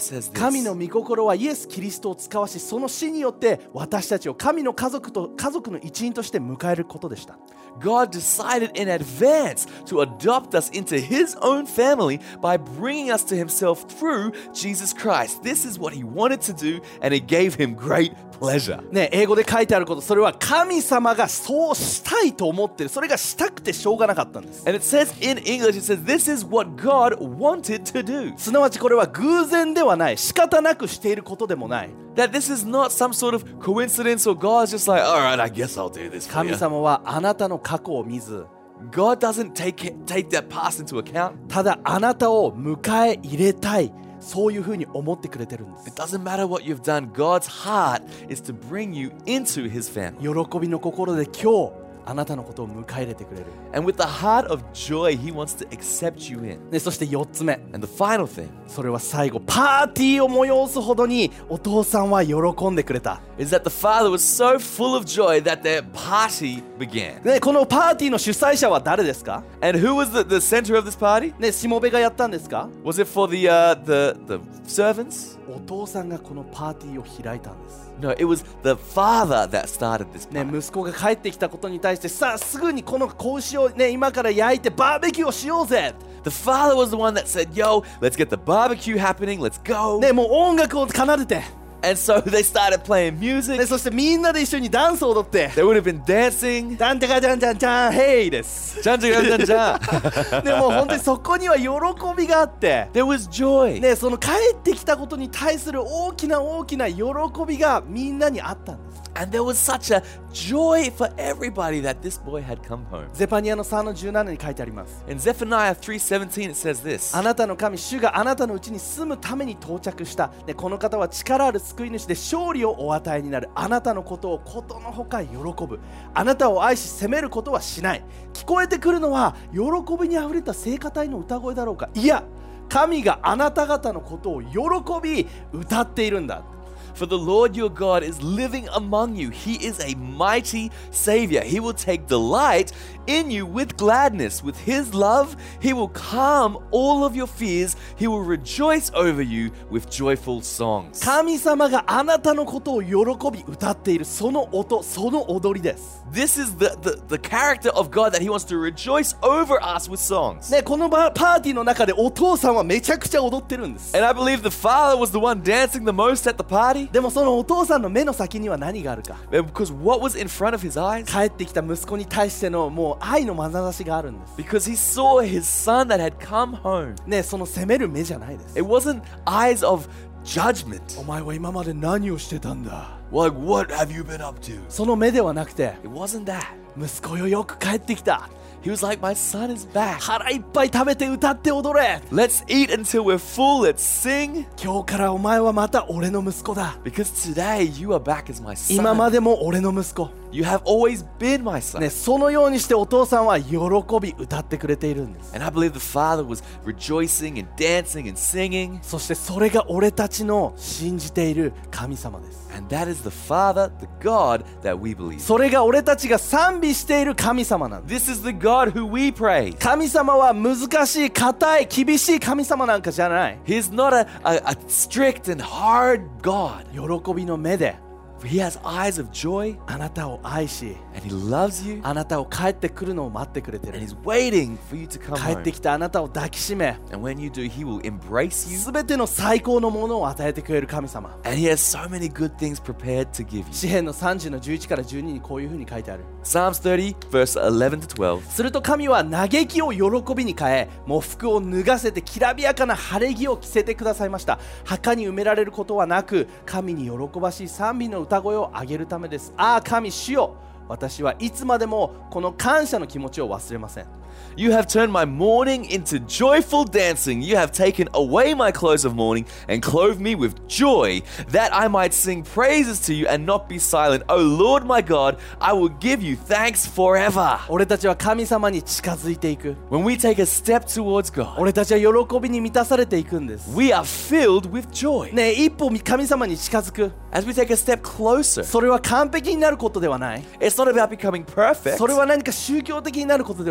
[SPEAKER 4] says
[SPEAKER 3] 神
[SPEAKER 4] this.
[SPEAKER 3] の御心はイエス・キリストを使わし、その死によって私たちを神の家族と家族の一員として迎えることでした。
[SPEAKER 4] God decided in advance to adopt us into His own family by bringing us to Himself through Jesus Christ. This is what He wanted to do, and it gave Him great pleasure.
[SPEAKER 3] ね、英語で書いてあること、それは神様がそうしたいと思ってる、それがしたくてしょうがなかったんです。
[SPEAKER 4] And it says in English, it says, this is what God wanted to do.
[SPEAKER 3] すなわちこれは偶然ではない、仕方なくしていることでもない。
[SPEAKER 4] That this is not some sort of coincidence or God's just like, all right, I guess I'll do this for
[SPEAKER 3] 神
[SPEAKER 4] you.
[SPEAKER 3] 様はあなたの過去を見ず、
[SPEAKER 4] God doesn't take it, take that past into account.
[SPEAKER 3] ただあなたを迎え入れたい、そういうふうに思ってくれてるんです。
[SPEAKER 4] It doesn't matter what you've done. God's heart is to bring you into His family.
[SPEAKER 3] 喜びの心で今日あなたのことを迎え入れてくれる。
[SPEAKER 4] And with the heart of joy, He wants to accept you in.
[SPEAKER 3] ね、そしてよっつ目、
[SPEAKER 4] And the final thing
[SPEAKER 3] それは最後、パーティーを催すほどにお父さんは喜んでくれた。
[SPEAKER 4] is that the father was so full of joy that their party began.
[SPEAKER 3] ね、このパーティーの主催者は誰ですか？
[SPEAKER 4] And who was the, the center of this party?
[SPEAKER 3] ね、しもべがやったんですか？
[SPEAKER 4] Was it for the, uh, the, the servants?
[SPEAKER 3] お父さんがこのパーティーを開いたんです。
[SPEAKER 4] No, it was the father that started this
[SPEAKER 3] ね、
[SPEAKER 4] party.
[SPEAKER 3] 息子が帰ってきたことに対して、さあすぐにこの子牛をね、今から焼いてバーベキューをしようぜ。
[SPEAKER 4] The father was the one that said, yo, let's get the barbecue happening, let's go.
[SPEAKER 3] ね、もう音楽を奏でて、
[SPEAKER 4] And so they started playing
[SPEAKER 3] ね、
[SPEAKER 4] music.
[SPEAKER 3] そしてみんなで一緒にダンスを踊って、
[SPEAKER 4] They would have been dancing.
[SPEAKER 3] ダンテカジャンジャンジャンヘイです。
[SPEAKER 4] Jan, jan, jan, jan.
[SPEAKER 3] でもう本当にそこには喜びがあって、
[SPEAKER 4] There was joy.
[SPEAKER 3] ね、その帰ってきたことに対する大きな大きな喜びがみんなにあったんです。
[SPEAKER 4] And there was such a joy for everybody that this boy had come home.
[SPEAKER 3] ゼパニアのさんのじゅうななに書いてあります。
[SPEAKER 4] In Zephaniah three seventeen, it says this.
[SPEAKER 3] あなたの神、主があなたのうちに住むために到着した。で、この方は力ある救い主で勝利をお与えになる。あなたのことをことのほか喜ぶ。あなたを愛し責めることはしない。聞こえてくるのは喜びにあふれた聖歌隊の歌声だろうか。いや、神があなた方のことを喜び歌っているんだ。
[SPEAKER 4] For the Lord your God is living among you. He is a mighty Savior. He will take delight in you with gladness. With His love, He will calm all of your fears. He will rejoice over you with joyful songs.
[SPEAKER 3] 神様があなたのことを喜び歌っている、その音、その踊りです。
[SPEAKER 4] This is the, the, the character of God that He wants to rejoice over us with songs.
[SPEAKER 3] ね、このパーティーの中でお父さんはめちゃくちゃ踊ってるんです。
[SPEAKER 4] And I believe the father was the one dancing the most at the party.
[SPEAKER 3] でもそのお父さんの目の先には何があるか。
[SPEAKER 4] Because what was in front of his eyes?
[SPEAKER 3] 帰ってきた息子に対してのもう愛の眼差しがあるんです。
[SPEAKER 4] Because he saw his son that had come home.
[SPEAKER 3] ね、その責める目じゃないです。
[SPEAKER 4] It wasn't eyes of judgment.
[SPEAKER 3] お前は今まで何をしてたんだ。
[SPEAKER 4] Like, what have you been up to?
[SPEAKER 3] その目ではなくて、
[SPEAKER 4] It wasn't that.
[SPEAKER 3] 息子よ、よく帰ってきた。
[SPEAKER 4] He was like, my son is back.
[SPEAKER 3] 腹いっぱい食べて歌って踊れ。
[SPEAKER 4] Let's eat until we're full. Let's sing.
[SPEAKER 3] 今日からお前はまた俺の息子だ。
[SPEAKER 4] Because today you are back as my
[SPEAKER 3] 今ま
[SPEAKER 4] son.
[SPEAKER 3] でも俺の息子。
[SPEAKER 4] You have always been my son.
[SPEAKER 3] ね、そのようにしてお父さんは喜び歌ってくれているんです。
[SPEAKER 4] And I believe the father was rejoicing and dancing and singing.
[SPEAKER 3] そしてそれが俺たちの信じている神様です。
[SPEAKER 4] And that is the Father, the God that we believe.
[SPEAKER 3] それが俺たちが賛美している神様なんです。
[SPEAKER 4] This is the God who we praise.
[SPEAKER 3] 神様は難しい、硬い、厳しい神様なんかじゃない。
[SPEAKER 4] He's not a, a, a strict and hard God.
[SPEAKER 3] 喜びの目で
[SPEAKER 4] He has eyes of joy
[SPEAKER 3] あなたを愛し、
[SPEAKER 4] and He loves you
[SPEAKER 3] あなたを帰ってくるのを待ってくれて
[SPEAKER 4] and
[SPEAKER 3] る。
[SPEAKER 4] He's waiting for you to come
[SPEAKER 3] 帰って
[SPEAKER 4] home.
[SPEAKER 3] きたあなたを抱きしめ、
[SPEAKER 4] And when you do, He will embrace you
[SPEAKER 3] すべての最高のものを与えてくれる神様。
[SPEAKER 4] and He has so many good things prepared to give you.
[SPEAKER 3] 詩編のさんじゅうのじゅういちからじゅうににこういうふうに書いてある。
[SPEAKER 4] Psalms thirty, verse eleven to twelve.
[SPEAKER 3] すると神は嘆きを喜びに変え、喪服を脱がせてきらびやかな晴れ着を着せてくださいました。墓に埋められることはなく、神に喜ばしい賛美の歌声を上げるためです。ああ神主よ、私はいつまでもこの感謝の気持ちを忘れません。
[SPEAKER 4] You have turned my mourning into joyful dancing. You have taken away my clothes of mourning and clothed me with joy, that I might sing praises to you and not be silent. O Lord my God, I will give you thanks forever.
[SPEAKER 3] 俺たちは神様に近づいていく。
[SPEAKER 4] When we take a step towards God,
[SPEAKER 3] 俺たちは喜びに満たされていくんです。
[SPEAKER 4] we are filled with joy.
[SPEAKER 3] ねえ、一歩神様に近づく。
[SPEAKER 4] As we take a step closer,
[SPEAKER 3] それは完璧になることではない。
[SPEAKER 4] it's not about becoming perfect.
[SPEAKER 3] それは何か宗教的になることではない。
[SPEAKER 4] It's not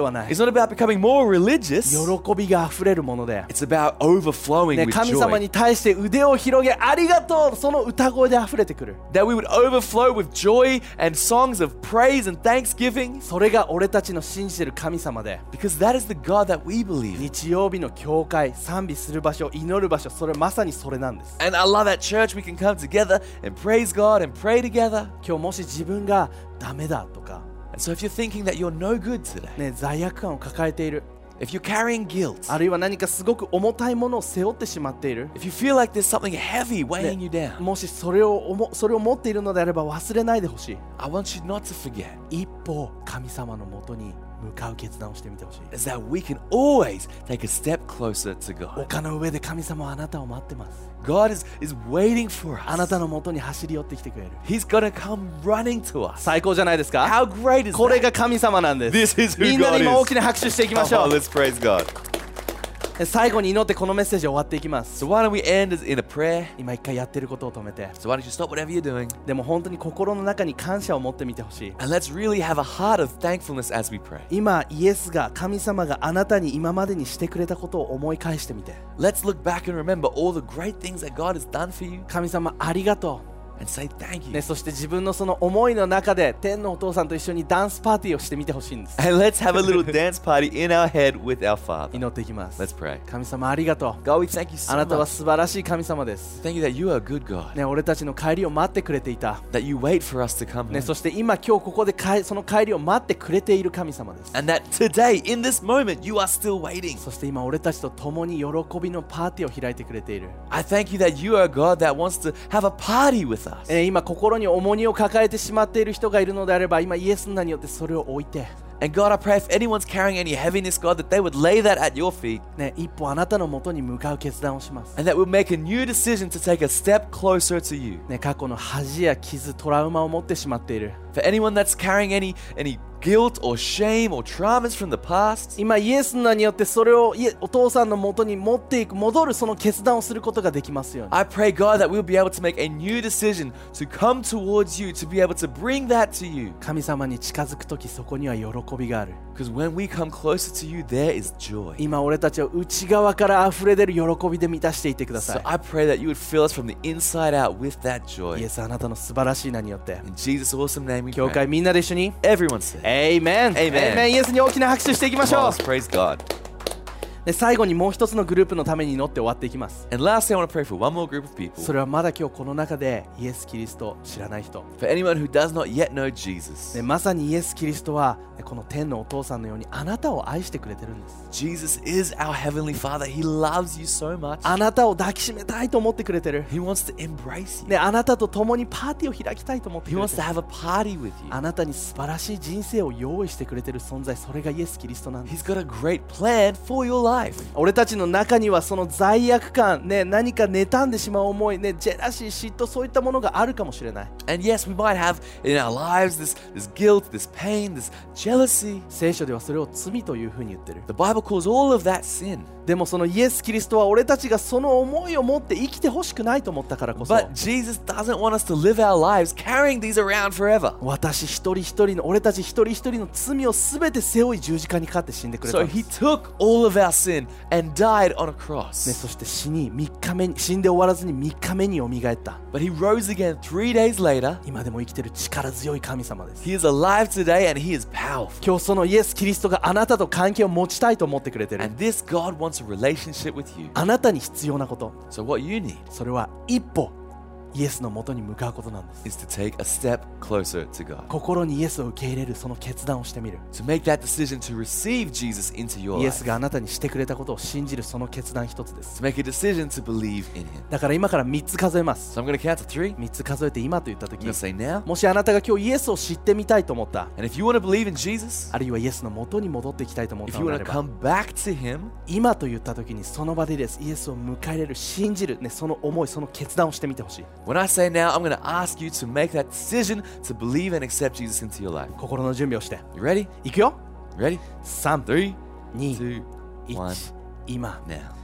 [SPEAKER 4] not about becoming more religious.
[SPEAKER 3] 喜びがあふれるもので、
[SPEAKER 4] It's about overflowing
[SPEAKER 3] ね、
[SPEAKER 4] with
[SPEAKER 3] 神様
[SPEAKER 4] joy.
[SPEAKER 3] に対して腕を広げありがとう、その歌声であふれてくる。
[SPEAKER 4] That we would overflow with joy and songs of praise and thanksgiving.
[SPEAKER 3] それが俺たちの信じてる神様で、
[SPEAKER 4] Because that is the God that we believe in.
[SPEAKER 3] 日曜日の教会、賛美する場所、祈る場所、それまさにそれなんです。
[SPEAKER 4] And I love that church we can come together and praise God and pray together.
[SPEAKER 3] 今日もし自分がダメだとか、
[SPEAKER 4] And so if you're thinking that you're no good today,
[SPEAKER 3] ね、罪悪感を抱えている、
[SPEAKER 4] if you're carrying guilt,
[SPEAKER 3] あるいは何かすごく重たいものを背負ってしまっている、
[SPEAKER 4] if you feel like there's something heavy weighing you down,
[SPEAKER 3] もしそれを思それを持っているのであれば忘れないでほしい。
[SPEAKER 4] I want you not to forget
[SPEAKER 3] 一歩神様のもとに向かう決断をしてみてほしい。
[SPEAKER 4] is that we can always take a step closer to God.
[SPEAKER 3] 丘の上で神様はあなたを待ってます。
[SPEAKER 4] God is, is waiting for
[SPEAKER 3] あな
[SPEAKER 4] us.
[SPEAKER 3] たのもとに走り寄ってきてくれる。
[SPEAKER 4] He's gonna come running to us.
[SPEAKER 3] 最高じゃないですか。
[SPEAKER 4] How great is
[SPEAKER 3] これ
[SPEAKER 4] that?
[SPEAKER 3] が神様なんです。
[SPEAKER 4] This is who
[SPEAKER 3] みんな
[SPEAKER 4] God
[SPEAKER 3] で今大き
[SPEAKER 4] is.
[SPEAKER 3] な拍手していきまし
[SPEAKER 4] Come
[SPEAKER 3] ょ
[SPEAKER 4] on,
[SPEAKER 3] う。
[SPEAKER 4] let's praise God.
[SPEAKER 3] 最後に祈ってこのメッセージ終わっていきます。
[SPEAKER 4] So why don't we end as- in a prayer?
[SPEAKER 3] 今一回やってることを止めて、
[SPEAKER 4] So why don't you stop whatever you're doing
[SPEAKER 3] でも本当に心の中に感謝を持ってみてほしい。
[SPEAKER 4] and let's really have a heart of thankfulness as we pray.
[SPEAKER 3] 今イエスが神様があなたに今までにしてくれたことを思い返してみて、
[SPEAKER 4] Let's look back and remember all the great things that God has done for you
[SPEAKER 3] 神様ありがと
[SPEAKER 4] and say thank
[SPEAKER 3] う、
[SPEAKER 4] you.
[SPEAKER 3] ね、そして自分のその思いの中で天のお父さんと一緒にダンスパーティーをしてみてほしいんです。
[SPEAKER 4] And let's have a little dance party in our head with our Father.
[SPEAKER 3] 祈っていきます。
[SPEAKER 4] Let's pray.
[SPEAKER 3] 神様ありがとう。
[SPEAKER 4] God, we thank you
[SPEAKER 3] あ
[SPEAKER 4] so
[SPEAKER 3] なたは
[SPEAKER 4] much.
[SPEAKER 3] 素晴らしい神様です。
[SPEAKER 4] Thank you that you are a good God,
[SPEAKER 3] ね、俺たちの帰りを待ってくれていた。
[SPEAKER 4] that you wait for us to come
[SPEAKER 3] ね、
[SPEAKER 4] home.
[SPEAKER 3] そして今今日ここで帰その帰りを待ってくれている神様です。
[SPEAKER 4] And that today, in this moment, you are still waiting.
[SPEAKER 3] そして今俺たちと共に喜びのパーティーを開いてくれている。
[SPEAKER 4] I thank you that you are a God that wants to have a party with us.
[SPEAKER 3] えー今心に重荷を抱えてしまっている人がいるのであれば、今イエスの名によってそれを置いて、
[SPEAKER 4] And God, I pray if anyone's carrying any heaviness, God, that they would lay that at your feet
[SPEAKER 3] ね、一歩あなたのもとに向かう決断をします。
[SPEAKER 4] and that we'll make a new decision to take a step closer to you.
[SPEAKER 3] ね、過去の恥や傷、トラウマを持ってしまっている。
[SPEAKER 4] For anyone that's carrying any any guilt or shame or traumas from the past,
[SPEAKER 3] 今イエスの名によってそれをいえお父さんのもとに持っていく、戻るその決断をすることができますように。
[SPEAKER 4] I pray, God, that we'll be able to make a new decision to come towards you, to be able to bring that to you.
[SPEAKER 3] 神様に近づくときそこには喜びがある。
[SPEAKER 4] Because when we come closer to you, there is joy.
[SPEAKER 3] 今俺たちを内側から溢れ出る喜びで満たしていってくださ
[SPEAKER 4] So I pray that you would fill us from the inside out with that
[SPEAKER 3] い。イエ
[SPEAKER 4] joy.
[SPEAKER 3] スあなたの素晴らしい名によって、
[SPEAKER 4] In Jesus' awesome name we
[SPEAKER 3] 教会
[SPEAKER 4] pray.
[SPEAKER 3] みんなで一緒に
[SPEAKER 4] Everyone say,
[SPEAKER 3] エイメン、
[SPEAKER 4] Amen
[SPEAKER 3] エイメン、イエスに大きな拍手していきまし
[SPEAKER 4] come
[SPEAKER 3] ょ
[SPEAKER 4] on,
[SPEAKER 3] う。
[SPEAKER 4] let's praise God.
[SPEAKER 3] で最後にもう一つのグループのために祈って終わっていきます。
[SPEAKER 4] And lastly, I want to pray for one more group of people.
[SPEAKER 3] それはまだ今日この中でイエス・キリストを知らない人、
[SPEAKER 4] For anyone who does not yet know Jesus.
[SPEAKER 3] でまさにイエス・キリストはこの天のお父さんのようにあなたを愛してくれてるんです。
[SPEAKER 4] Jesus is our Heavenly Father. He loves you so much.
[SPEAKER 3] あなたを抱きしめたいと思ってくれてる。
[SPEAKER 4] He wants to embrace you.
[SPEAKER 3] ね、あなたと共にパーティーを開きたいと思って
[SPEAKER 4] He
[SPEAKER 3] くれ
[SPEAKER 4] wants
[SPEAKER 3] て
[SPEAKER 4] to
[SPEAKER 3] る。
[SPEAKER 4] have a party with you.
[SPEAKER 3] あなたに素晴らしい人生を用意してくれてる存在、それがイエス・キリストなんです。
[SPEAKER 4] He's got a great plan for your life.
[SPEAKER 3] 俺たちの中にはその罪悪感、ね、何か妬んでしまう思い、ね、ジェラシー、嫉妬、そういったものがあるかもしれない。
[SPEAKER 4] And yes, we might have in our lives this, this guilt, this pain, this jealousy.
[SPEAKER 3] 聖書ではそれを罪というふうに言ってる。
[SPEAKER 4] The Bible calls all of that sin.
[SPEAKER 3] でもそのイエス・キリストは俺たちがその思いを持って生きてほしくないと思ったからこそ、
[SPEAKER 4] But Jesus doesn't want us to live our lives carrying these around forever.
[SPEAKER 3] 私一人一人の俺たち一人一人の罪をすべて背負い十字架にかかって死んでくれた
[SPEAKER 4] So
[SPEAKER 3] んです。
[SPEAKER 4] he took all of our sin and died on a
[SPEAKER 3] ね、
[SPEAKER 4] cross.
[SPEAKER 3] そして死にみっかめに死んで終わらずにみっかめによみがえった。
[SPEAKER 4] But he rose again three days later.
[SPEAKER 3] 今でも生きてる力強い神様です。
[SPEAKER 4] He is alive today and he is powerful.
[SPEAKER 3] 今日そのイエス・キリストがあなたと関係を持ちたいと思ってくれてる。
[SPEAKER 4] And this God wants a relationship with you.
[SPEAKER 3] あなたに必要なこと、
[SPEAKER 4] So what you need
[SPEAKER 3] それは一歩イエスのもとに向かうことなんです。
[SPEAKER 4] is to take a step closer to God.
[SPEAKER 3] 心にイエスを受け入れるその決断をしてみる。
[SPEAKER 4] To make that decision to receive Jesus into your
[SPEAKER 3] イエ
[SPEAKER 4] life.
[SPEAKER 3] スがあなたにしてくれたことを信じるその決断一つです。
[SPEAKER 4] To make a decision to believe in him.
[SPEAKER 3] だから今からみっつ数えます。
[SPEAKER 4] So I'm going to count to three.
[SPEAKER 3] みっつ数えて今と言った時
[SPEAKER 4] I'm going to say now.
[SPEAKER 3] もしあなたが今日イエスを知ってみたいと思った、
[SPEAKER 4] And if you want to believe in Jesus,
[SPEAKER 3] あるいはイエスのもとに戻っていきたいと思っ
[SPEAKER 4] if
[SPEAKER 3] た
[SPEAKER 4] you
[SPEAKER 3] のであ
[SPEAKER 4] want
[SPEAKER 3] れ
[SPEAKER 4] to
[SPEAKER 3] ば、
[SPEAKER 4] come back to him,
[SPEAKER 3] 今と言った時にその場でですイエスを迎え入れる、信じる、ね、その思い、その決断をしてみてほしい。
[SPEAKER 4] when I say now, I'm going to ask you to make that decision to believe and accept Jesus into your life.
[SPEAKER 3] 心の準備をして
[SPEAKER 4] You ready?
[SPEAKER 3] いくよ。
[SPEAKER 4] Ready?
[SPEAKER 3] さん、
[SPEAKER 4] Three,
[SPEAKER 3] に、
[SPEAKER 4] two,
[SPEAKER 3] いち
[SPEAKER 4] one,
[SPEAKER 3] 今
[SPEAKER 4] now.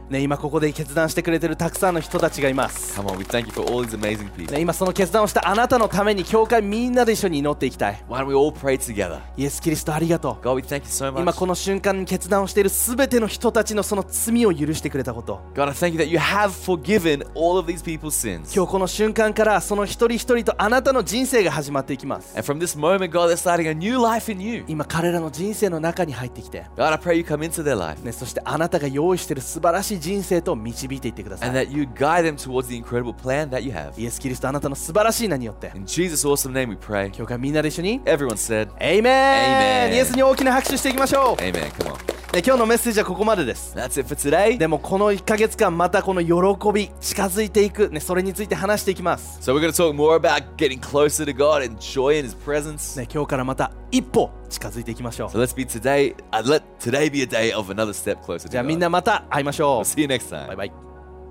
[SPEAKER 3] ね、今ここで決断してくれてるたくさんの人たちがいます。
[SPEAKER 4] Come on, we thank you for all these amazing people.
[SPEAKER 3] ね、今その決断をしたあなたのために教会みんなで一緒に祈っていきたい。
[SPEAKER 4] Why don't we all pray together?
[SPEAKER 3] イエス・キリストありがとう。
[SPEAKER 4] God, we thank you so
[SPEAKER 3] 今
[SPEAKER 4] much.
[SPEAKER 3] この瞬間に決断をしているすべての人たちのその罪を許してくれたこと、
[SPEAKER 4] God, I thank you that you have forgiven all of these people's sins.
[SPEAKER 3] 今日この瞬間からその一人一人とあなたの人生が始まっていきます。
[SPEAKER 4] And from this moment, God, they're starting a new life in you.
[SPEAKER 3] 今彼らの人生の中に入ってきて、
[SPEAKER 4] God, I pray you come into their life
[SPEAKER 3] ね、そしてあなたが用意している素晴らしい人生と導いていってくださ
[SPEAKER 4] and
[SPEAKER 3] い。
[SPEAKER 4] that you guide them towards the incredible plan that you have.
[SPEAKER 3] イエス・キリストあなたの素晴らしい名によって、
[SPEAKER 4] In Jesus' awesome name we pray.
[SPEAKER 3] 教会みんなで一緒に
[SPEAKER 4] Everyone said,
[SPEAKER 3] エイメン
[SPEAKER 4] Amen
[SPEAKER 3] イエスに大きな拍手していきましょう。
[SPEAKER 4] Amen. Come on.
[SPEAKER 3] ね、今日のメッセージはここまでです。
[SPEAKER 4] That's it for today.
[SPEAKER 3] でもこのいっかげつかんまたこの喜び近づいていく、ね、それについて話していきます。
[SPEAKER 4] So we're going to talk more about getting closer to God and joy in His presence.
[SPEAKER 3] ね、今日からまた一歩近づいていきましょ
[SPEAKER 4] So
[SPEAKER 3] う。
[SPEAKER 4] let's be today. Uh, let today be a day of another step closer
[SPEAKER 3] じゃ
[SPEAKER 4] to
[SPEAKER 3] あみんな
[SPEAKER 4] God.
[SPEAKER 3] また会いましょ
[SPEAKER 4] We'll see you next
[SPEAKER 3] う。
[SPEAKER 4] time.
[SPEAKER 3] バイバイ。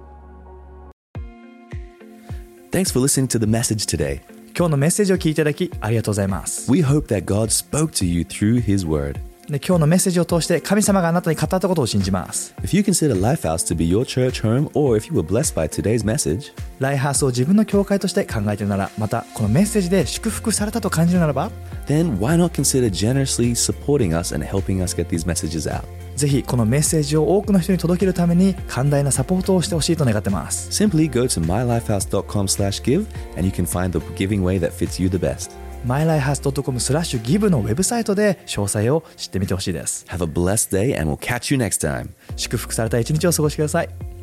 [SPEAKER 1] Thanks for listening to the message today.
[SPEAKER 2] 今日のメッセージを聞いていただきありがとうございます。
[SPEAKER 1] We hope that God spoke to you through His Word.
[SPEAKER 2] で今日のメッセージを通して神様があなたに語ったことを信じます。
[SPEAKER 1] If you consider Lifehouse to be your church home, or if you were blessed by today's message,
[SPEAKER 2] ライハースを自分の教会として考えているなら、またこのメッセージで祝福されたと感じるならば、
[SPEAKER 1] then why not consider generously supporting us and helping us get these messages out?
[SPEAKER 2] ぜひこのメッセージを多くの人に届けるために寛大なサポートをしてほしいと願ってます。
[SPEAKER 1] Simply go to my life house dot com slash give and you can find the giving way that fits you the best.
[SPEAKER 2] マイライハース ドットコム スラッシュギブのウェブサイトで詳細を知ってみてほしいです。
[SPEAKER 1] Have a blessed day and we'll catch you next time.
[SPEAKER 2] 祝福された一日を過ごしてください。